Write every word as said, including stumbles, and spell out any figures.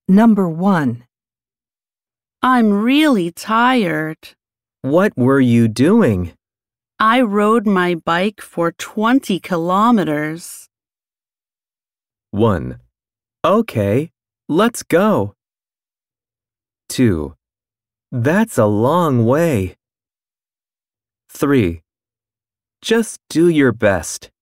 Number one. I'm really tired. What were you doing? I rode my bike for twenty kilometers. one. Okay, let's go. two. That's a long way. three. Just do your best.